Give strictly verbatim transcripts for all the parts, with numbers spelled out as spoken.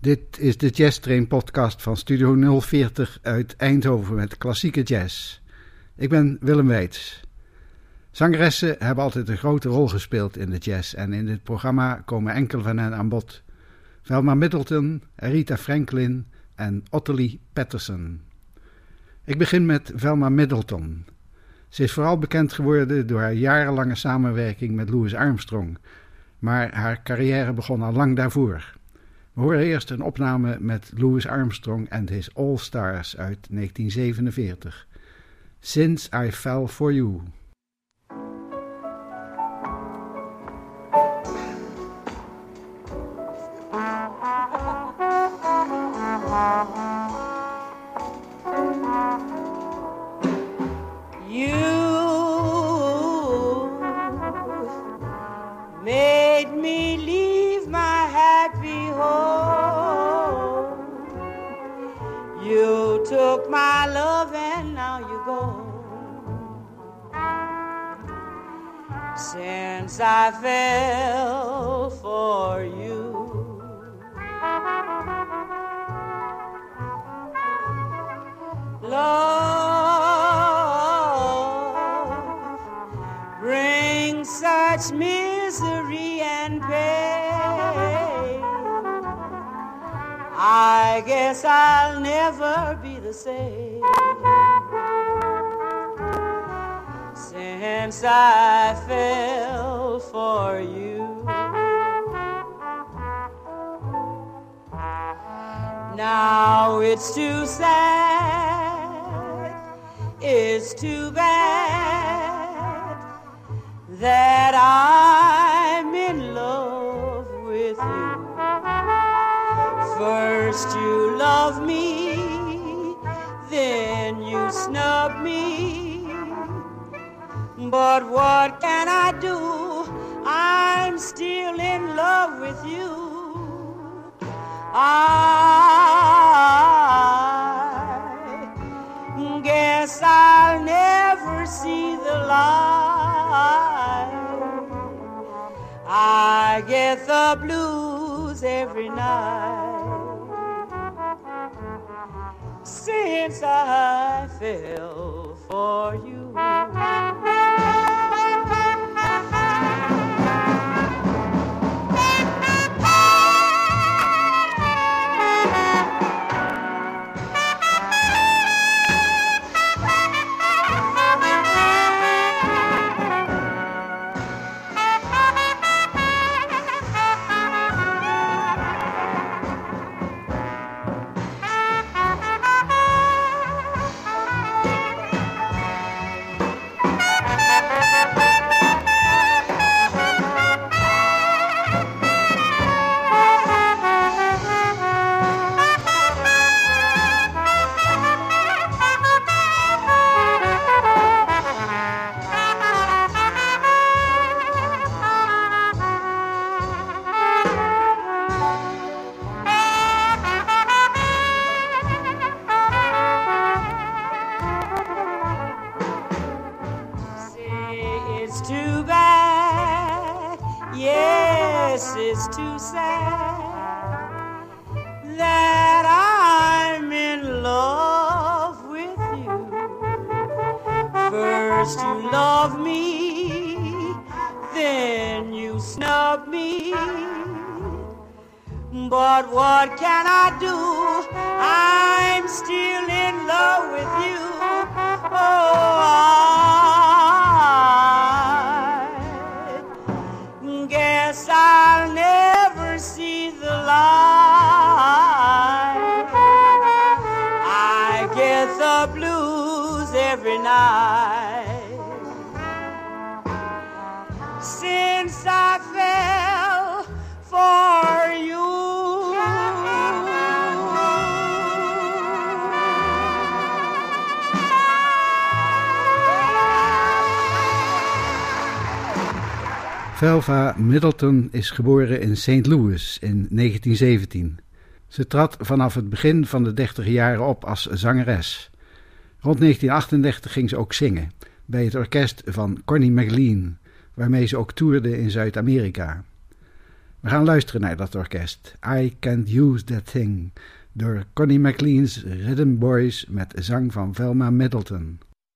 Dit is de Jazz Train podcast van Studio nul veertig uit Eindhoven met klassieke jazz. Ik ben Willem Weits. Zangeressen hebben altijd een grote rol gespeeld in de jazz en in dit programma komen enkele van hen aan bod. Velma Middleton, Aretha Franklin en Ottilie Patterson. Ik begin met Velma Middleton. Ze is vooral bekend geworden door haar jarenlange samenwerking met Louis Armstrong, maar haar carrière begon al lang daarvoor. We horen eerst een opname met Louis Armstrong and His All Stars uit negentien zevenenveertig. Since I Fell For You. Took my love and now you go. Since I fell for you, love brings such misery and pain. I guess I'll never be the same since I fell for you. Now it's too sad, it's too bad that I'm in love with you. First you love me, then you snub me. But what can I do? I'm still in love with you. I guess I'll never see the light. I get the blues every night since I fell for you. It's too sad that I'm in love with you. First you love me, then you snub me. But what can I do? I'm still in love with you. Oh, I guess I'll never see the light. I get the blues every night since I fell for you. Velma Middleton is geboren in Saint Louis in negentien zeventien. Ze trad vanaf het begin van de dertiger jaren op als zangeres. Rond negentien achtendertig ging ze ook zingen bij het orkest van Connie McLean, waarmee ze ook toerde in Zuid-Amerika. We gaan luisteren naar dat orkest. I Can't Use That Thing. Door Connie McLean's Rhythm Boys met zang van Velma Middleton.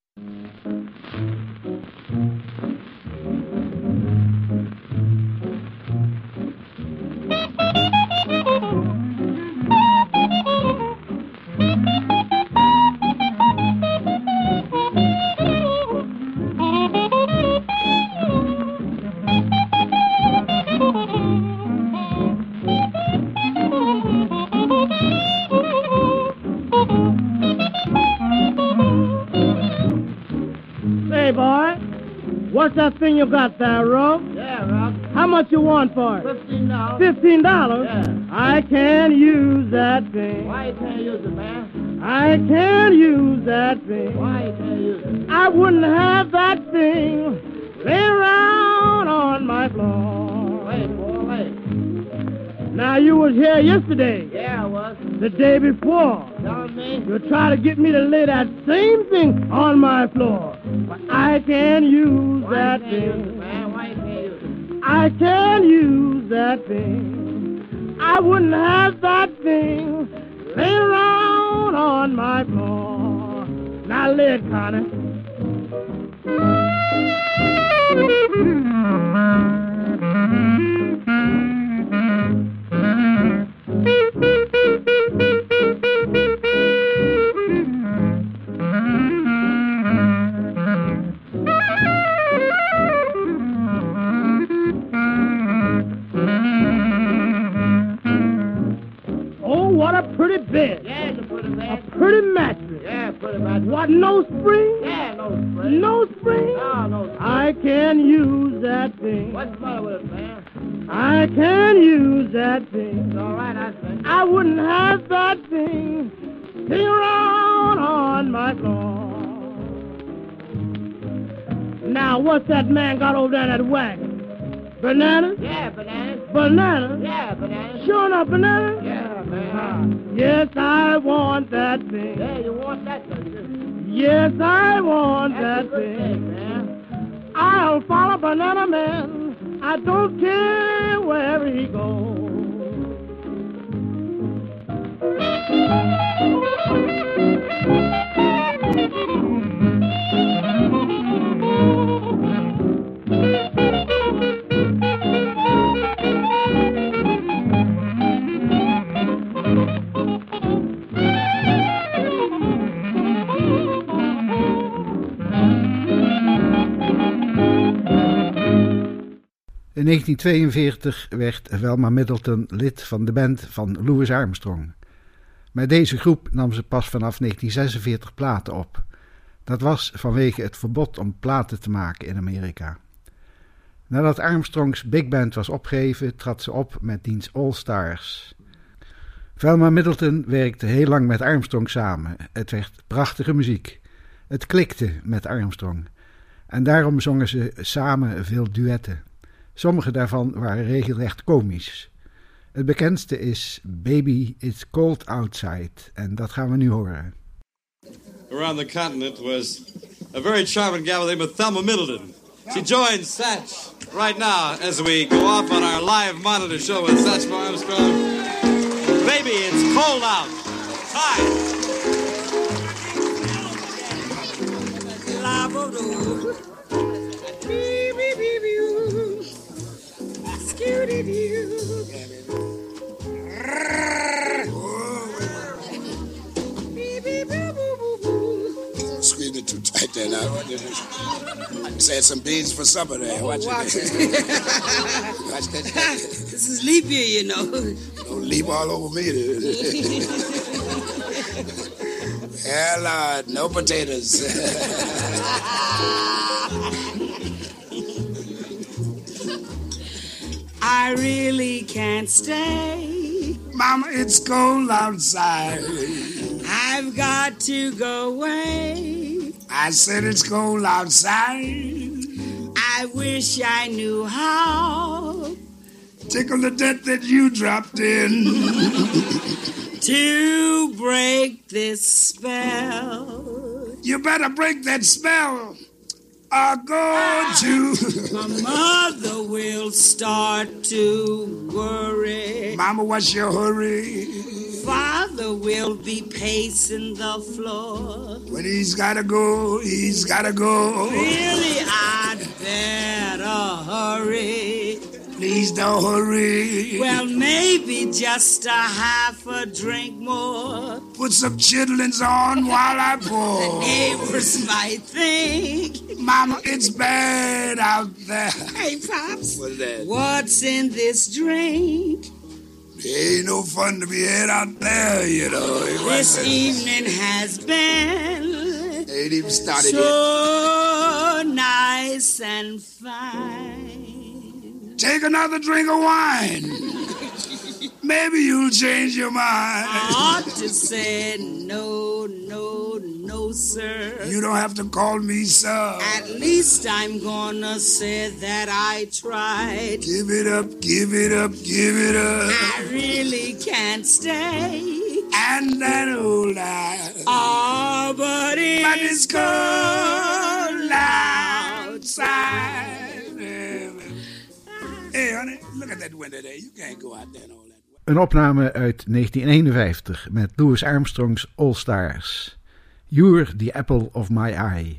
What's that thing you got there, Rob? Yeah, Rob. How much you want for it? Fifteen dollars. Fifteen dollars? Yeah. I can't use that thing. Why you can't use it, man? I can't use that thing. Why you can't use it? I wouldn't have that thing lay around on my floor. Wait, boy, wait. Now, you was here yesterday. Yeah, I was. The day before. Telling me? You try to get me to lay that same thing on my floor. But I can't use Why that you can't thing. use it, man? Why you can't use it? I can't use that thing. I wouldn't have that thing lay around on my floor. Now lay it, Connie. Pretty bed. Yeah, it's a pretty bed. A pretty mattress. Yeah, pretty mattress. What, no spring? Yeah, no spring. No spring? No, no spring. I can use that thing. What's the matter with it, man? I can use that thing. It's all right, I think. I wouldn't have that thing sitting around on my floor. Now, what's that man got over there in that wagon? Bananas? Yeah, bananas. Bananas? Yeah, bananas. Sure enough, bananas? Yeah, man. Yes, I want that thing. Yeah, you want that, don't you? Yes, I want That's that a good thing. thing, man. I'll follow Banana Man. I don't care where he goes. In negentien tweeënveertig werd Velma Middleton lid van de band van Louis Armstrong. Met deze groep nam ze pas vanaf negentien zesenveertig platen op. Dat was vanwege het verbod om platen te maken in Amerika. Nadat Armstrongs big band was opgegeven, trad ze op met diens All Stars. Velma Middleton werkte heel lang met Armstrong samen. Het werd prachtige muziek. Het klikte met Armstrong. En daarom zongen ze samen veel duetten. Sommige daarvan waren regelrecht komisch. Het bekendste is Baby It's Cold Outside en dat gaan we nu horen. Around the continent was a very charming gal named Thelma Middleton. She joins Satch right now as we go off on our live monitor show with Satch Armstrong. Baby, it's cold out. Hi. Squeezing it too tight there now. Just had some beans for supper there. Watch it. Watch that. This is leap year, you know. Don't leap all over me. Hell, Lord, no potatoes. I really can't stay. Mama, it's cold outside. I've got to go away. I said it's cold outside. I wish I knew how. Tickle the debt that you dropped in. To break this spell. You better break that spell. are going to. My mother will start to worry. Mama, what's your hurry? Father will be pacing the floor. When he's gotta go, he's gotta go. Really, I'd better hurry. Please don't hurry. Well, maybe just a half a drink more. Put some chitlins on while I pour. Neighbors might think, Mama, it's bad out there. hey, Pops, What's that? what's in this drink? It ain't no fun to be had out there, you know. It This wasn't- evening has been Ain't even started yet. so nice and fine. Take another drink of wine. Maybe you'll change your mind. I ought to say no, no, no, sir. You don't have to call me sir. At least I'm gonna say that I tried. Give it up, give it up, give it up. I really can't stay. And that old eye. Oh, but it's, But it's cold outside. Hey, honey, look at that window there. You can't go out there and all that. Een opname uit negentien eenenvijftig met Louis Armstrong's All Stars. You're the apple of my eye.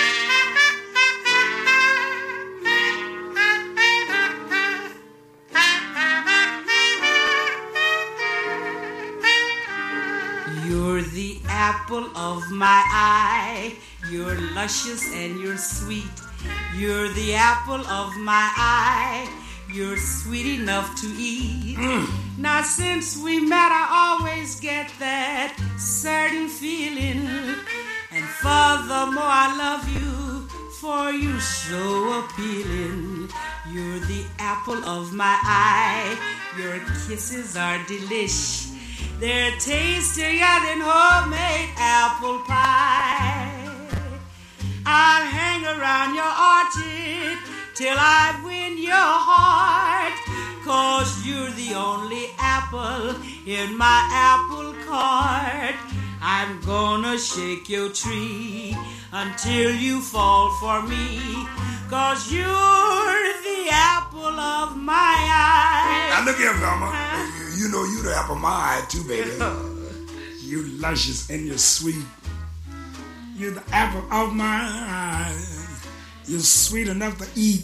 You're the apple of my eye. You're luscious and you're sweet. You're the apple of my eye. You're sweet enough to eat. Mm. Now since we met, I always get that certain feeling. And furthermore, I love you, for you're so appealing. You're the apple of my eye. Your kisses are delish. They're tastier than homemade apple pie. I'll hang around your orchard till I win your heart, 'cause you're the only apple in my apple cart. I'm gonna shake your tree until you fall for me, 'cause you're the apple of my eye. Now look here, Velma. You know you the apple of my eye too, baby. You luscious and you're sweet. You're the apple of my eye. You're sweet enough to eat.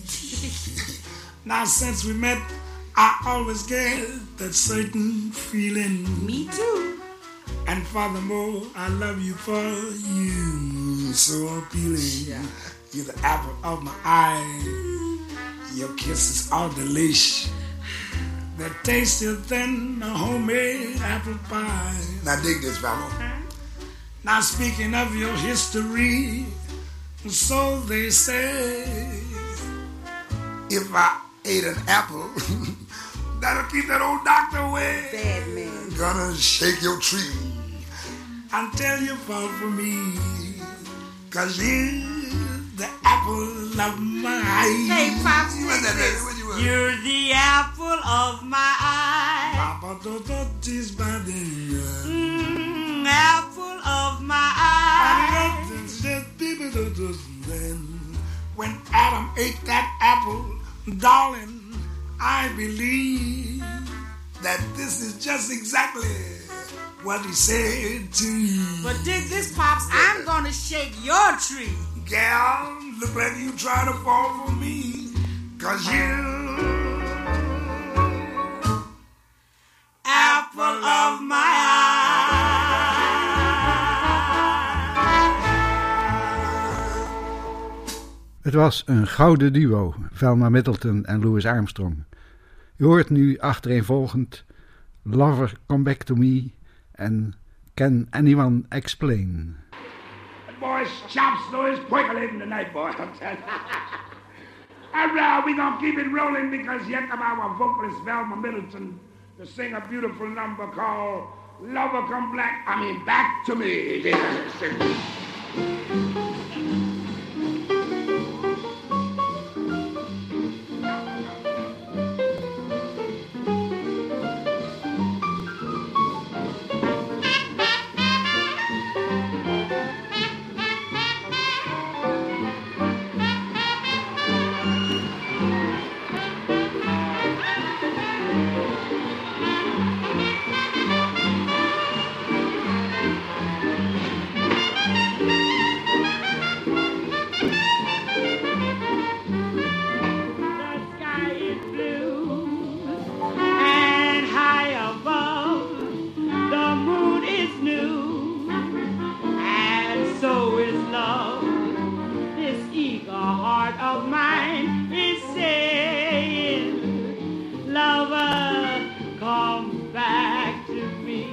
Now since we met, I always get that certain feeling. Me too. And furthermore, I love you for you. So appealing. Yeah. You're the apple of my eye. Your kisses are delish. They're tastier than a homemade apple pie. Now dig this, Mama. Now speaking of your history, so they say, if I ate an apple, that'll keep that old doctor away. Bad man. Gonna shake your tree until you fall for me, 'cause you're the apple of my eye. Hey, Pops, You want that, baby? What you want? you're the apple of my eye. Papa, don't touch his body. Mm, apple of my eye. When Adam ate that apple, darling, I believe that this is just exactly what he said to you. But dig this, Pops, I'm gonna shake your tree. Gal, look like you trying to fall for me, 'cause you Apple of my eye. Het was een gouden duo, Velma Middleton en Louis Armstrong. U hoort nu achtereenvolgend Lover Come Back to Me en Can Anyone Explain? That boy's chops slow is percolating tonight, boy. I'm telling you. All right, we're going to keep it rolling because yet of our vocalist, Velma Middleton, to sing a beautiful number called Lover Come Black, I mean, Back to Me. come back to me.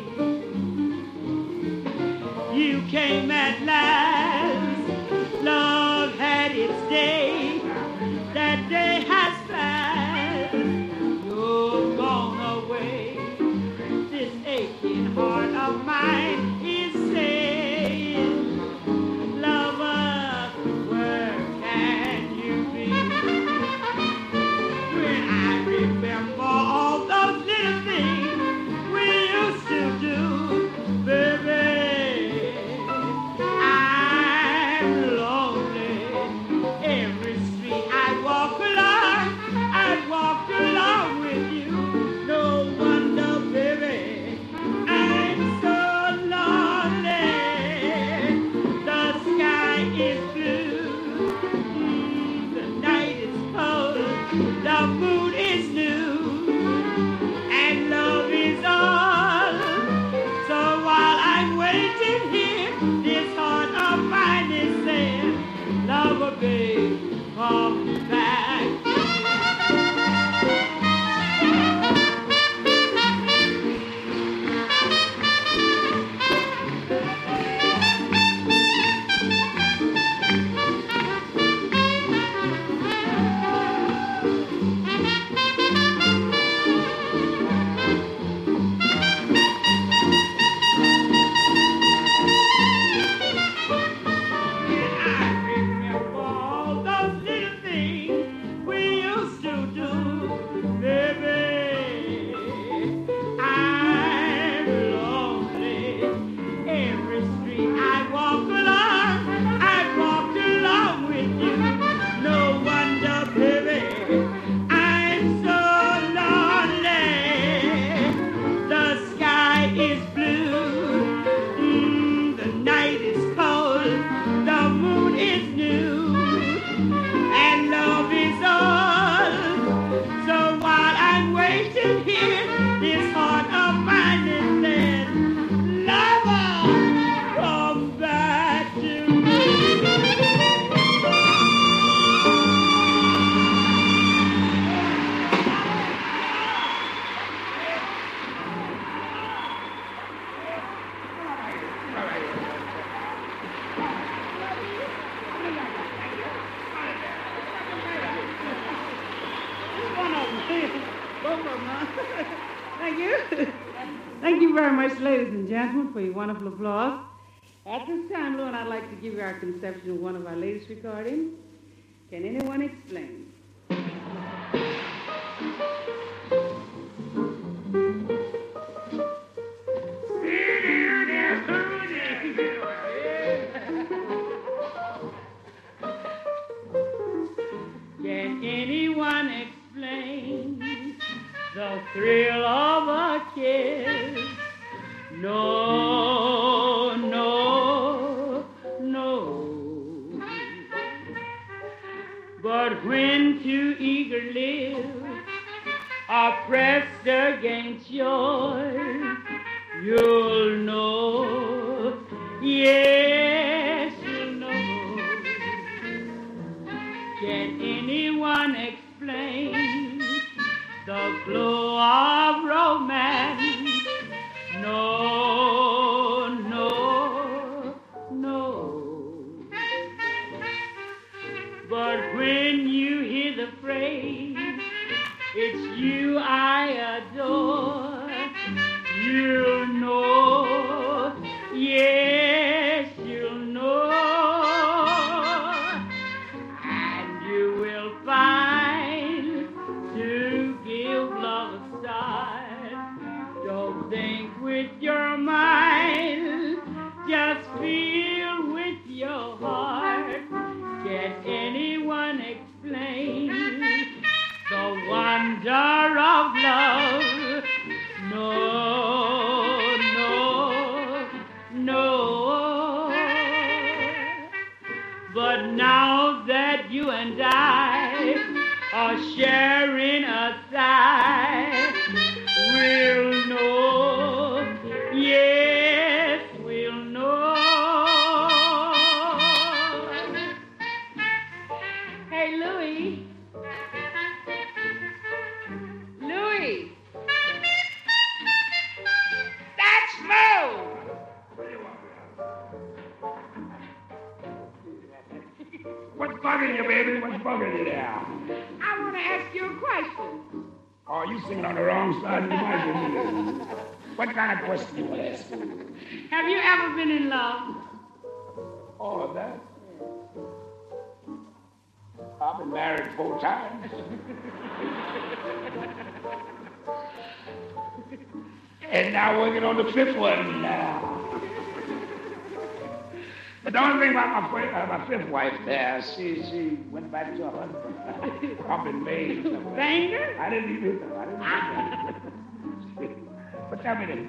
You came at last, love had its day, that day has passed, you're gone away. This aching heart of mine is saying, lover, where can you be? When I remember all those little things we used to do, baby, I'm lonely. Every street I walk along, I walk along with you. No wonder, baby, I'm so lonely. The sky is blue, mm, the night is cold, the moon is new, and love is all. So while I'm waiting here, this heart of mine is saying, lover, babe, come back. I remember all those little things we used to do, baby. I'm lonely. Every street I walk along, I walk along with you. No wonder, baby, I'm so lonely. The sky is blue, mm, the night is cold, the moon is new, and love is all. So while I'm waiting here, this heart of mine is saying, lover, come back to me. One of them. Both of them, huh? Thank you. Thank you very much, ladies and gentlemen, for your wonderful applause. At this time, Lou and I'd like to give you our conception of one of our latest recordings. Can anyone explain? Can anyone explain the thrill of a kiss? No, no, no. But when two eager lips are pressed against yours, you'll know, yes, you'll know. Can anyone explain the glow of romance? No, no, no. But when you hear the phrase, it's you I adore, you'll know, yes, you'll know. And you will find to give love a start. Don't think with your mind, just feel with your heart. Can anyone explain the wonder of love? No, no, no. But now that you and I are sharing a sigh, we'll know, yes, we'll know. Hey, Louie. Louie. bugging you, baby? What's bugging you there? I want to ask you a question. Oh, you singing on the wrong side of the mic. What kind of question you want to ask me? Have you ever been in love? Oh, that? I've been married four times. And now working on the fifth one now. But the only thing about my, fir- uh, my fifth wife there, she she went back to her husband. I've been made. Banger? I didn't even know. I didn't even know. But tell me this.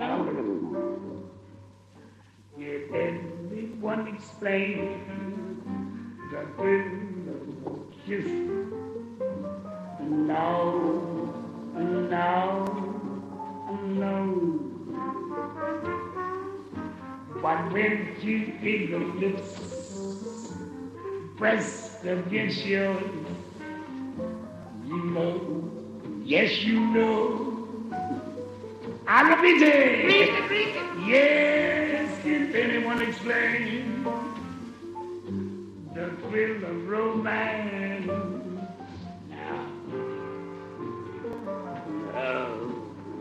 Did anyone explain the thrill of kiss? No, no, no. But when you feel your lips pressed against yours, you know, yes, you know. I love you, Jay. Yes, can anyone explain the thrill of romance? Now, oh,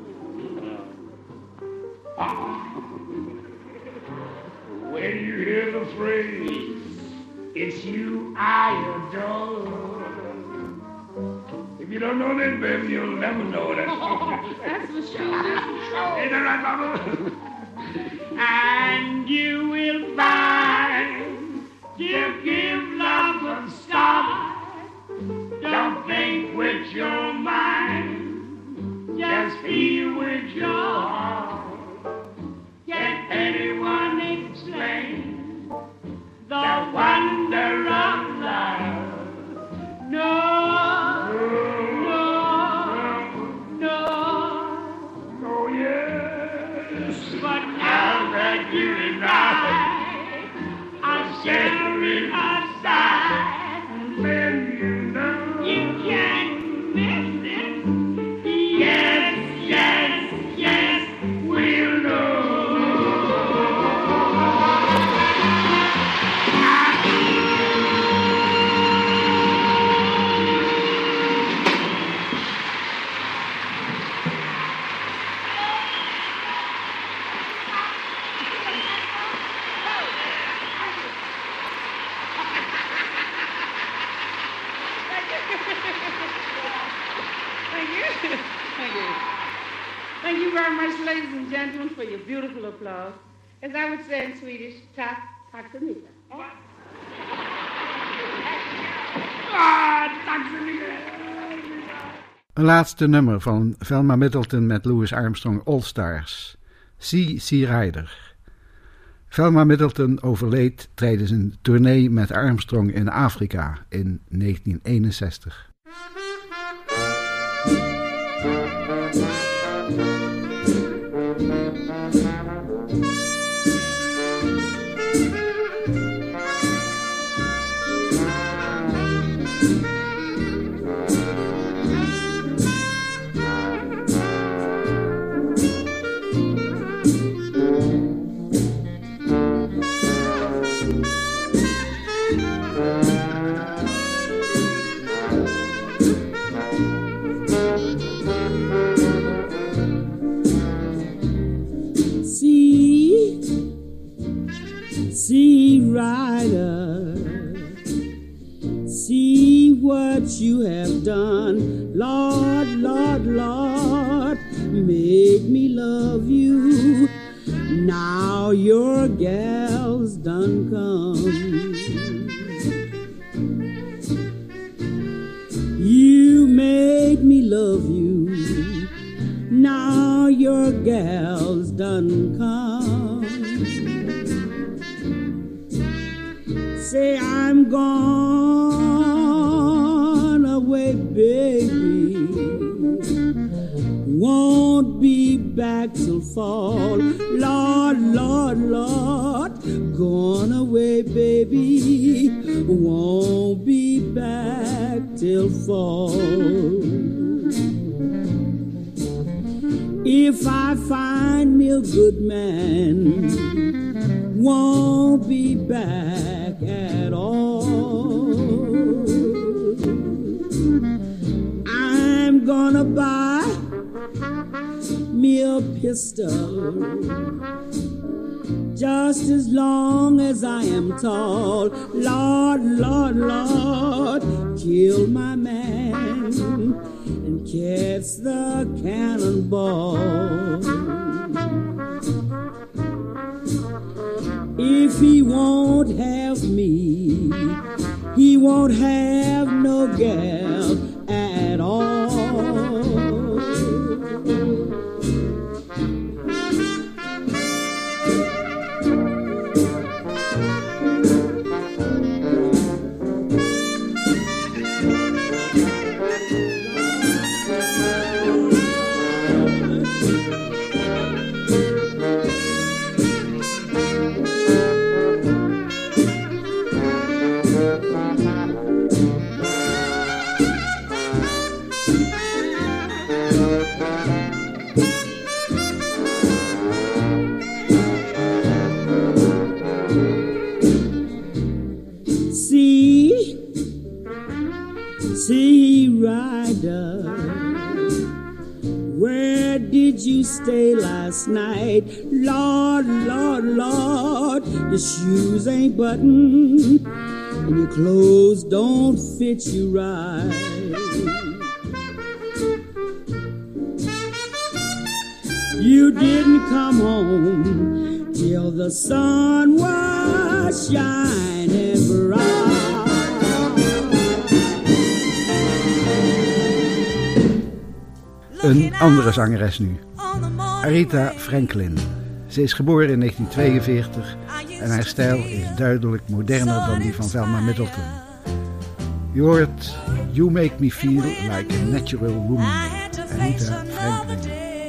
oh. Ah. When you hear the phrase, it's you I adore. If you don't know that, baby, you'll never know that. Oh, that's for sure. That's for sure. Ain't that right, Mama? And you will find you give love a start. Don't think with your mind, just feel with your heart. Can anyone explain the wonder of love? No, no, no. Oh, yes. But now that you and I are sharing a side, Then you know. you can't miss it. Yes, yes, yes, we'll know. Thank you. Thank you. Thank you very much, ladies and gentlemen, for your beautiful applause. As I would say in Swedish, tack, tack så mycket. Ah, tack så mycket. Een laatste nummer van Velma Middleton met Louis Armstrong All Stars. Sea Sea Rider. Velma Middleton overleed tijdens een tournee met Armstrong in Afrika in negentien eenenzestig. Sea Rider, see what you have done, Lord, Lord, Lord, make me love you. Now your gal's done come. You made me love you. Now your gal's done come. Say I'm gone away, baby. Won't be back till fall. Lord, Lord, Lord, gone away, baby. Won't be back till fall. If I find me a good man, won't be back at all. gonna buy me a pistol. Just as long as I am tall, Lord, Lord, Lord, kill my man and catch the cannonball. If he won't have me, he won't have no gal at all. See, rider, where did you stay last night? Lord, Lord, Lord, your shoes ain't buttoned and your clothes don't fit you right. You didn't come home till the sun was shining bright. Een andere zangeres nu, Aretha Franklin. Ze is geboren in negentien tweeënveertig en haar stijl is duidelijk moderner dan die van Velma Middleton. Je hoort You Make Me Feel Like a Natural Woman, Aretha Franklin.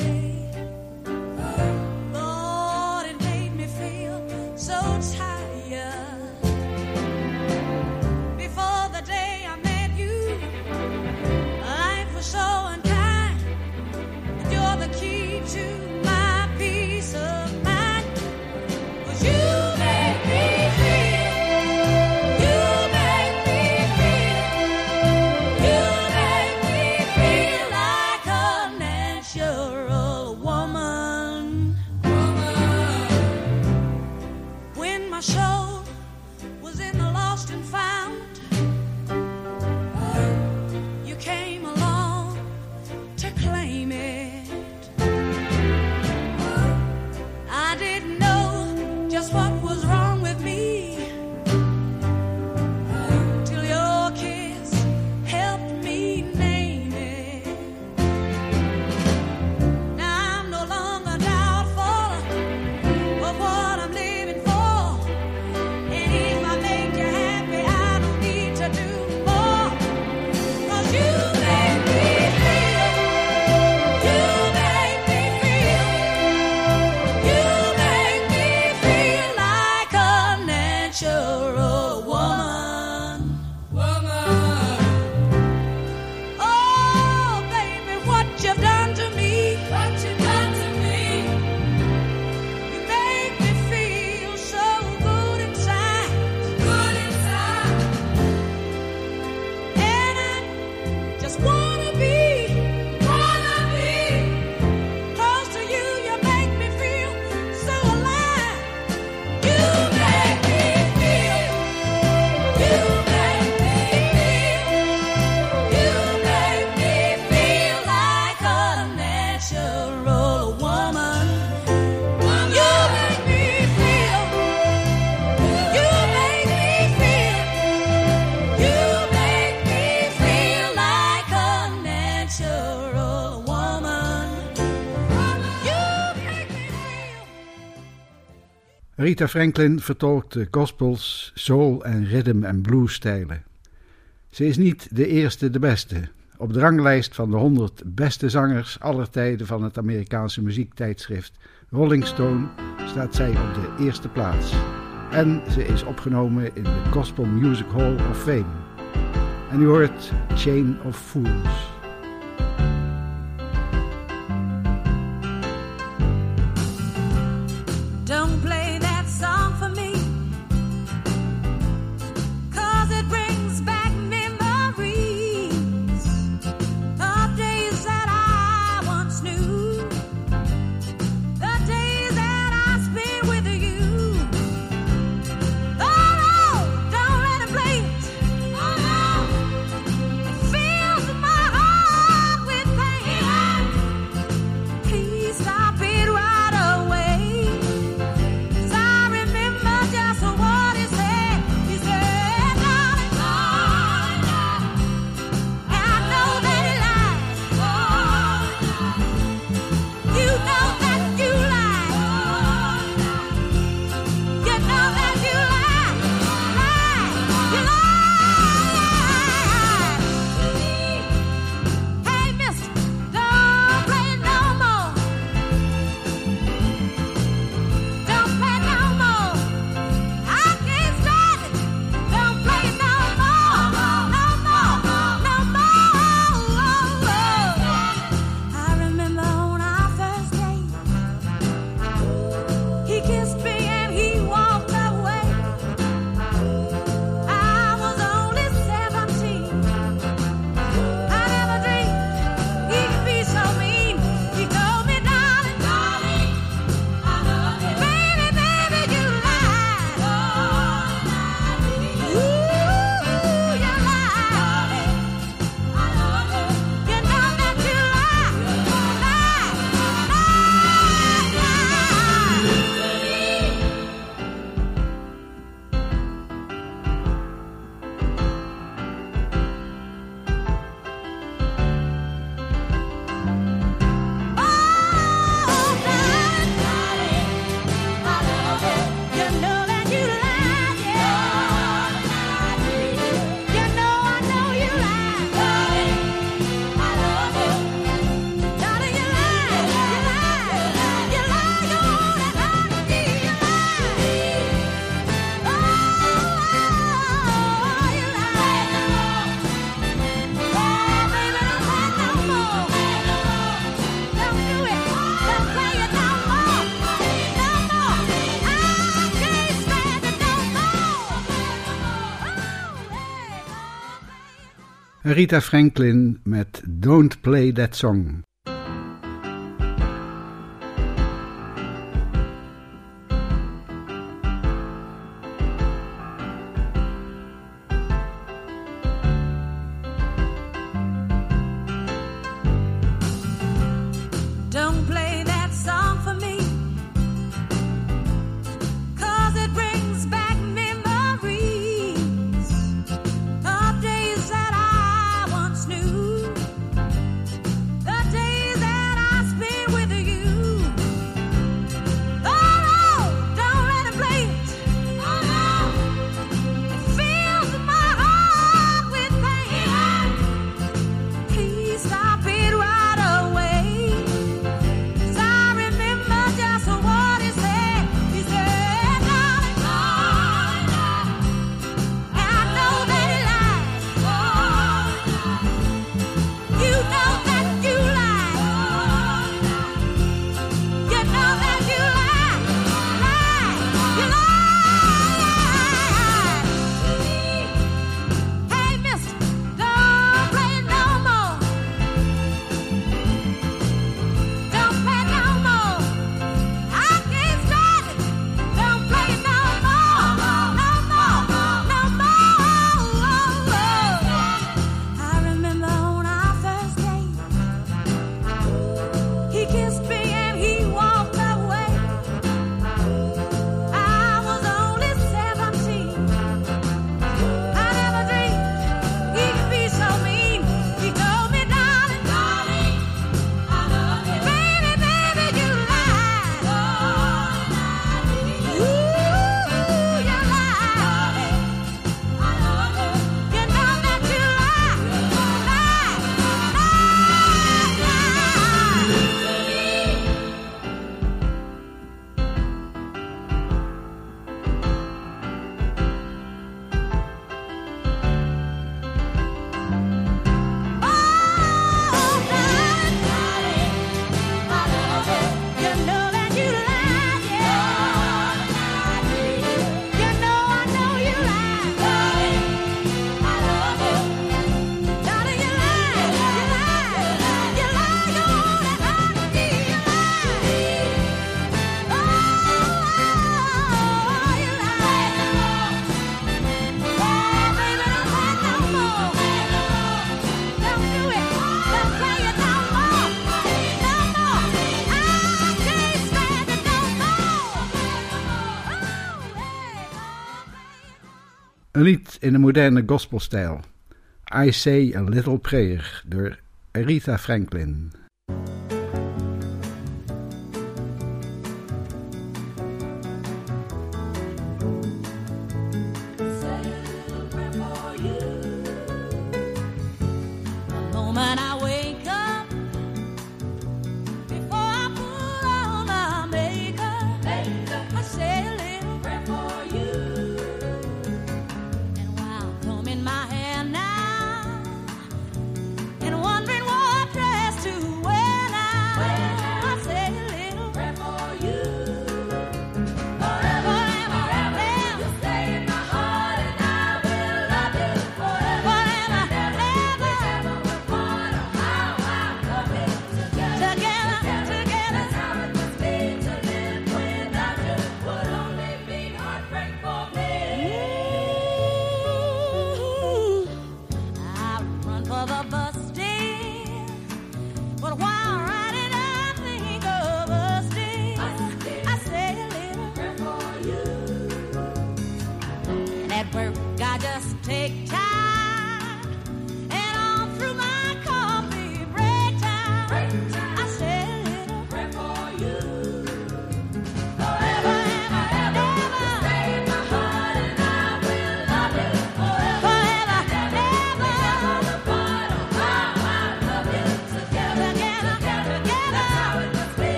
Aretha Franklin vertolkt de gospels, soul en rhythm en blues stijlen. Ze is niet de eerste de beste. Op de ranglijst van de honderd beste zangers aller tijden van het Amerikaanse muziektijdschrift Rolling Stone staat zij op de eerste plaats. En ze is opgenomen in de Gospel Music Hall of Fame. En u hoort Chain of Fools. Don't play that song for me, 'cause it brings back memories of days Aretha Franklin met Don't Play That Song. Een lied in de moderne gospelstijl. I Say a Little Prayer door Aretha Franklin. Wondering what dress to wear.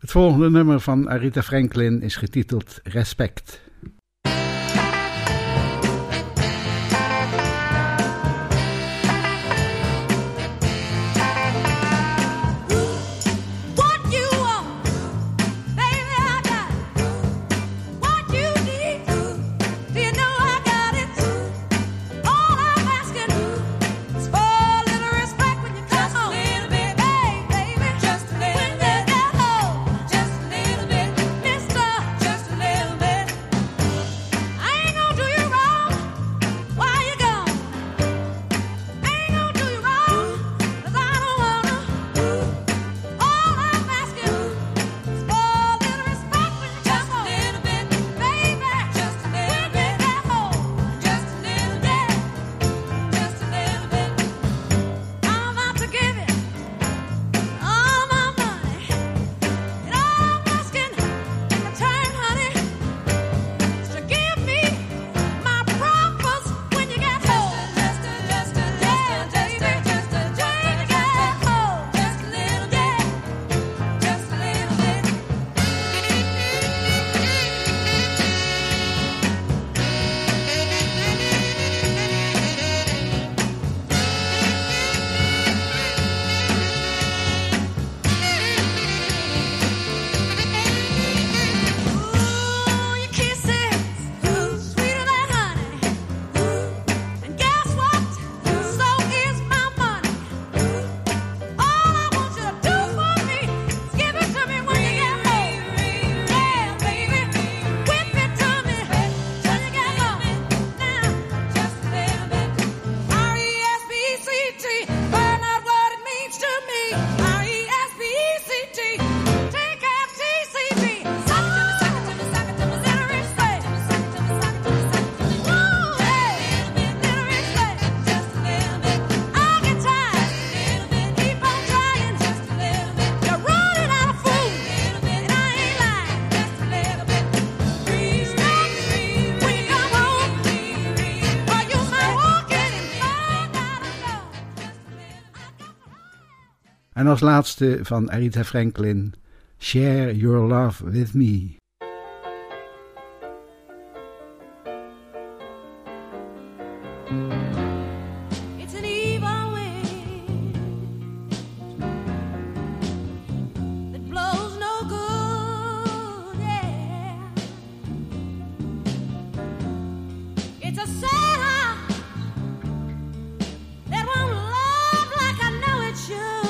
Het volgende nummer van Aretha Franklin is getiteld Respect. En als laatste van Aretha Franklin, Share Your Love With Me. It's an evil wind that blows no good, yeah. It's a sad heart that won't love like I know it should.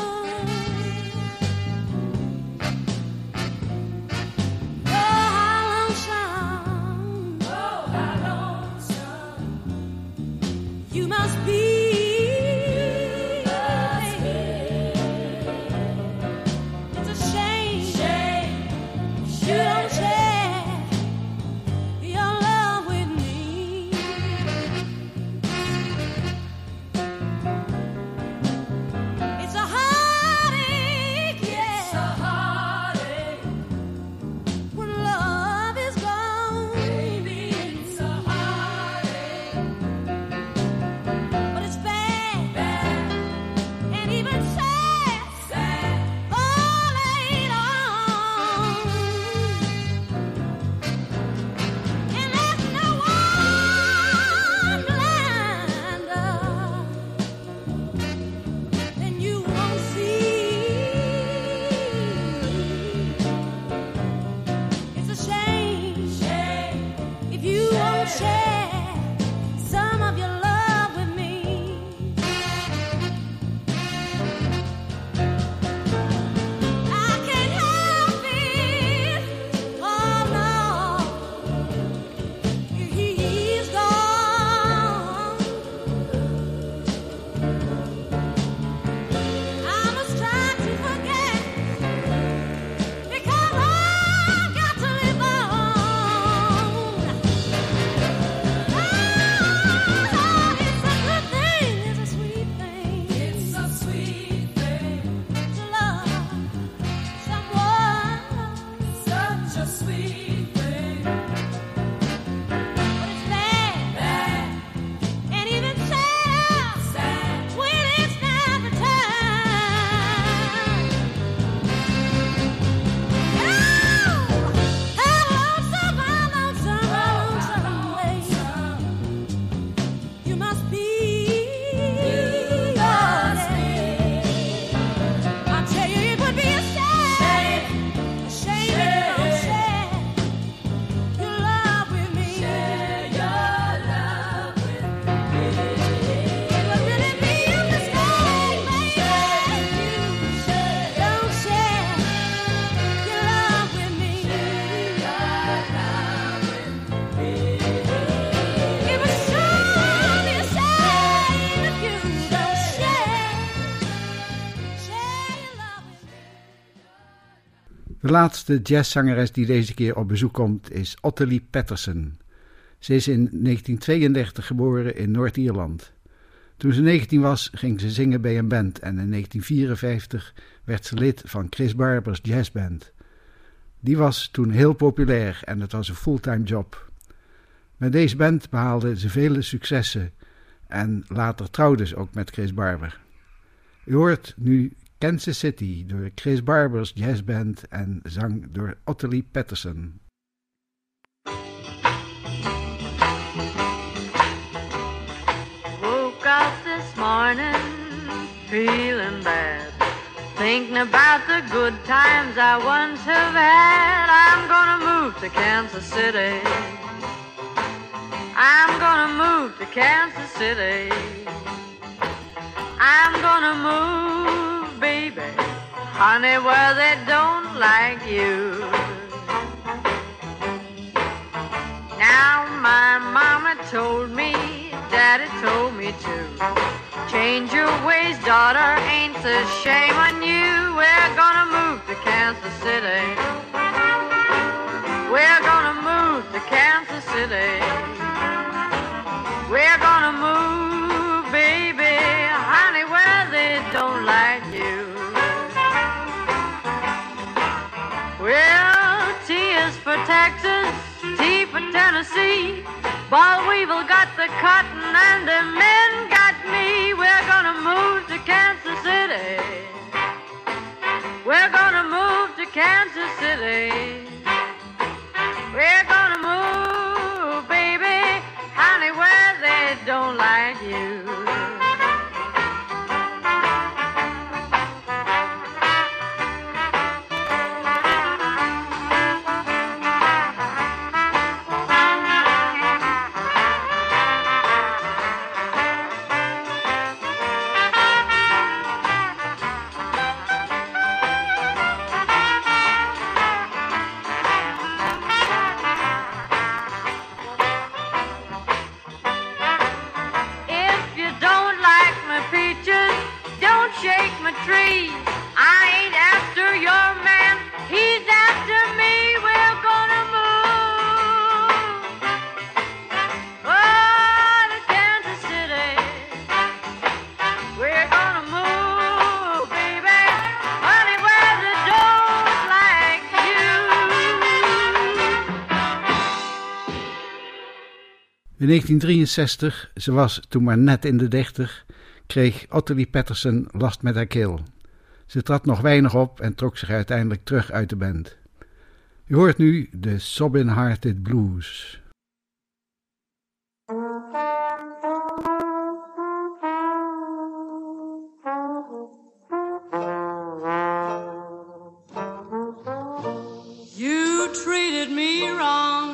laatste jazzzangeres die deze keer op bezoek komt is Ottilie Patterson. Ze is in negentien tweeëndertig geboren in Noord-Ierland. Toen ze negentien was, ging ze zingen bij een band en in negentien vierenvijftig werd ze lid van Chris Barber's jazzband. Die was toen heel populair en het was een fulltime job. Met deze band behaalde ze vele successen en later trouwde ze ook met Chris Barber. U hoort nu Kansas City door Chris Barber's jazzband en zang door Ottilie Patterson. Woke up this morning feeling bad, thinking about the good times I once have had. I'm gonna move to Kansas City. I'm gonna move to Kansas City. I'm gonna move, baby, honey, where they don't like you. Now my mama told me, daddy told me to change your ways, daughter, ain't a shame on you. We're gonna move to Kansas City. We're gonna move to Kansas City. We're gonna move, baby, honey, where they don't like you. Well, T is for Texas, T for Tennessee. Boll Weevil got the cotton and the men got me. We're gonna move to Kansas City. We're gonna move to Kansas City. We're gonna move, baby, honey, where they don't like you. Tree. I ain't after your man, he's after me. We're gonna move oh, to Kansas City. We're gonna move, baby, honey, where they don't like you. In negentien drieënzestig, ze was toen maar net in de dertig, kreeg Ottilie Patterson last met haar keel. Ze trad nog weinig op en trok zich uiteindelijk terug uit de band. U hoort nu de Sobbin' Hearted Blues. You treated me wrong,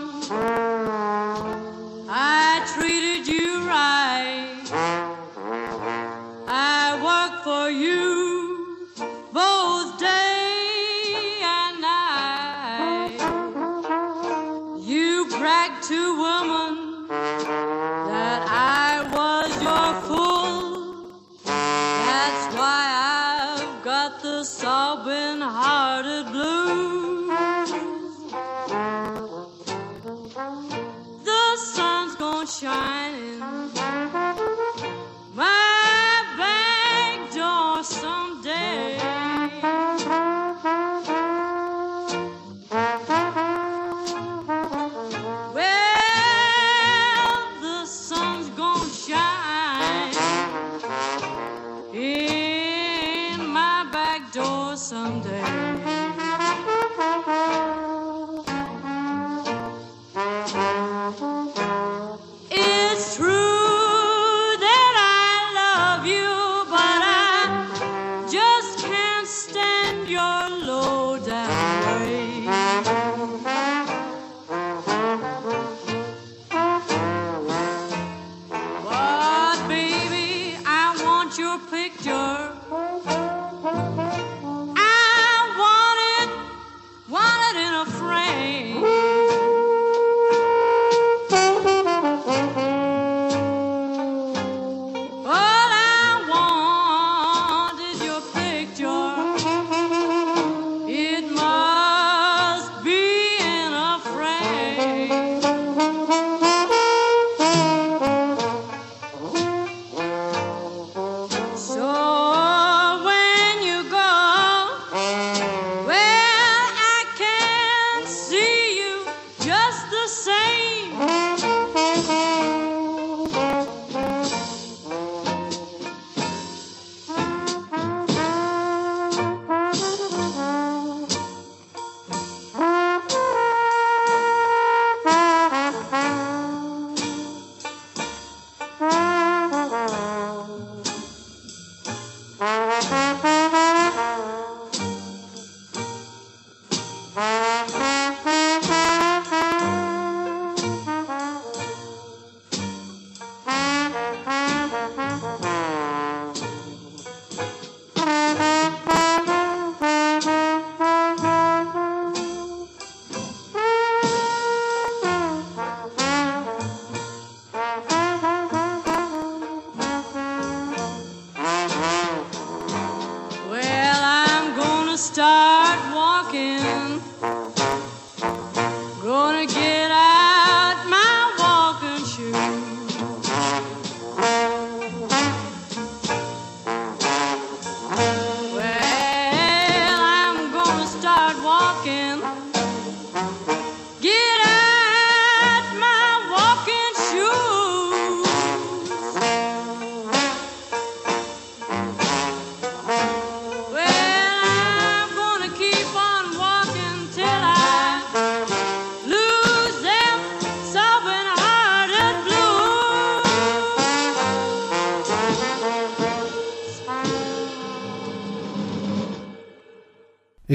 I treated you right. I work for you both day and night. You bragged to woman that I was your fool. That's why I've got the sobbing hearted blues. The sun's gonna shine in my back door someday. Well, the sun's gonna shine in my back door someday. It's true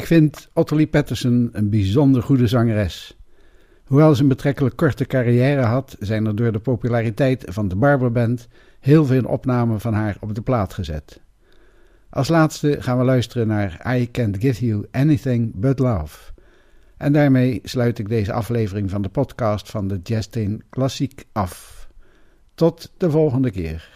Ik vind Ottilie Patterson een bijzonder goede zangeres. Hoewel ze een betrekkelijk korte carrière had, zijn er door de populariteit van de Barber Band heel veel opnamen van haar op de plaat gezet. Als laatste gaan we luisteren naar I Can't Give You Anything But Love. En daarmee sluit ik deze aflevering van de podcast van de Jazzteen Klassiek af. Tot de volgende keer.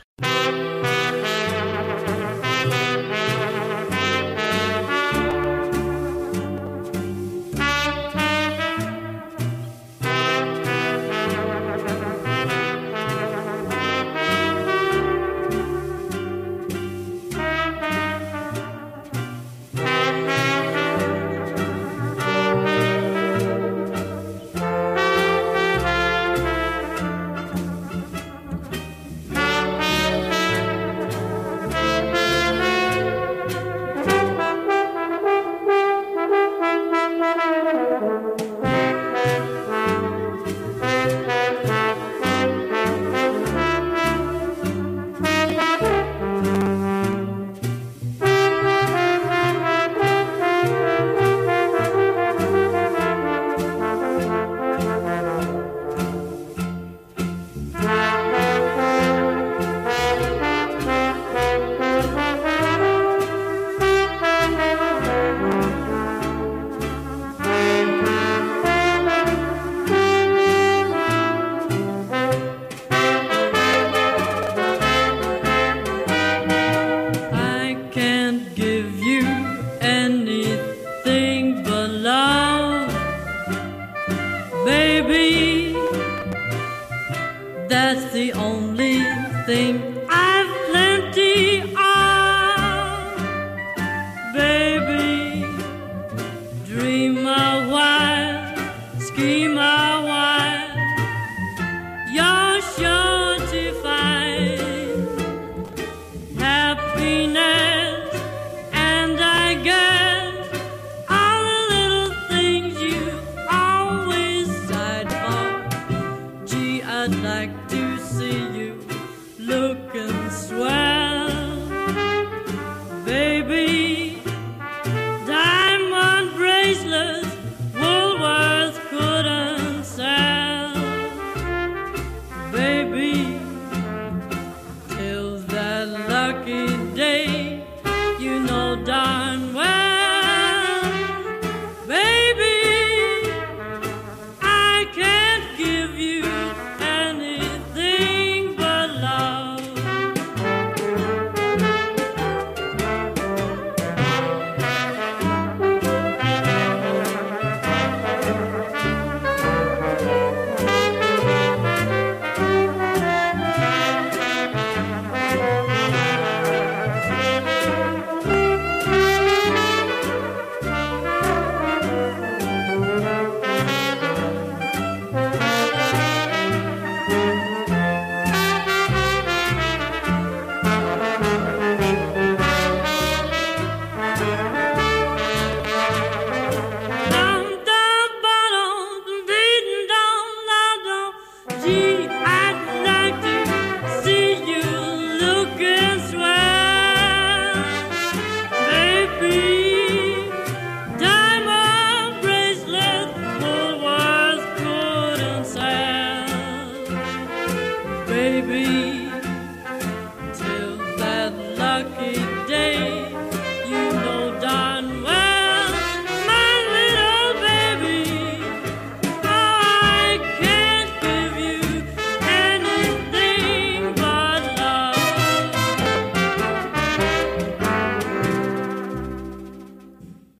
That's the only thing I've plenty of. Baby, dream a while, scheme a while, you're sure to find happiness, and I guess all the little things you always sighed for. Gee, I'd like to see you looking swell.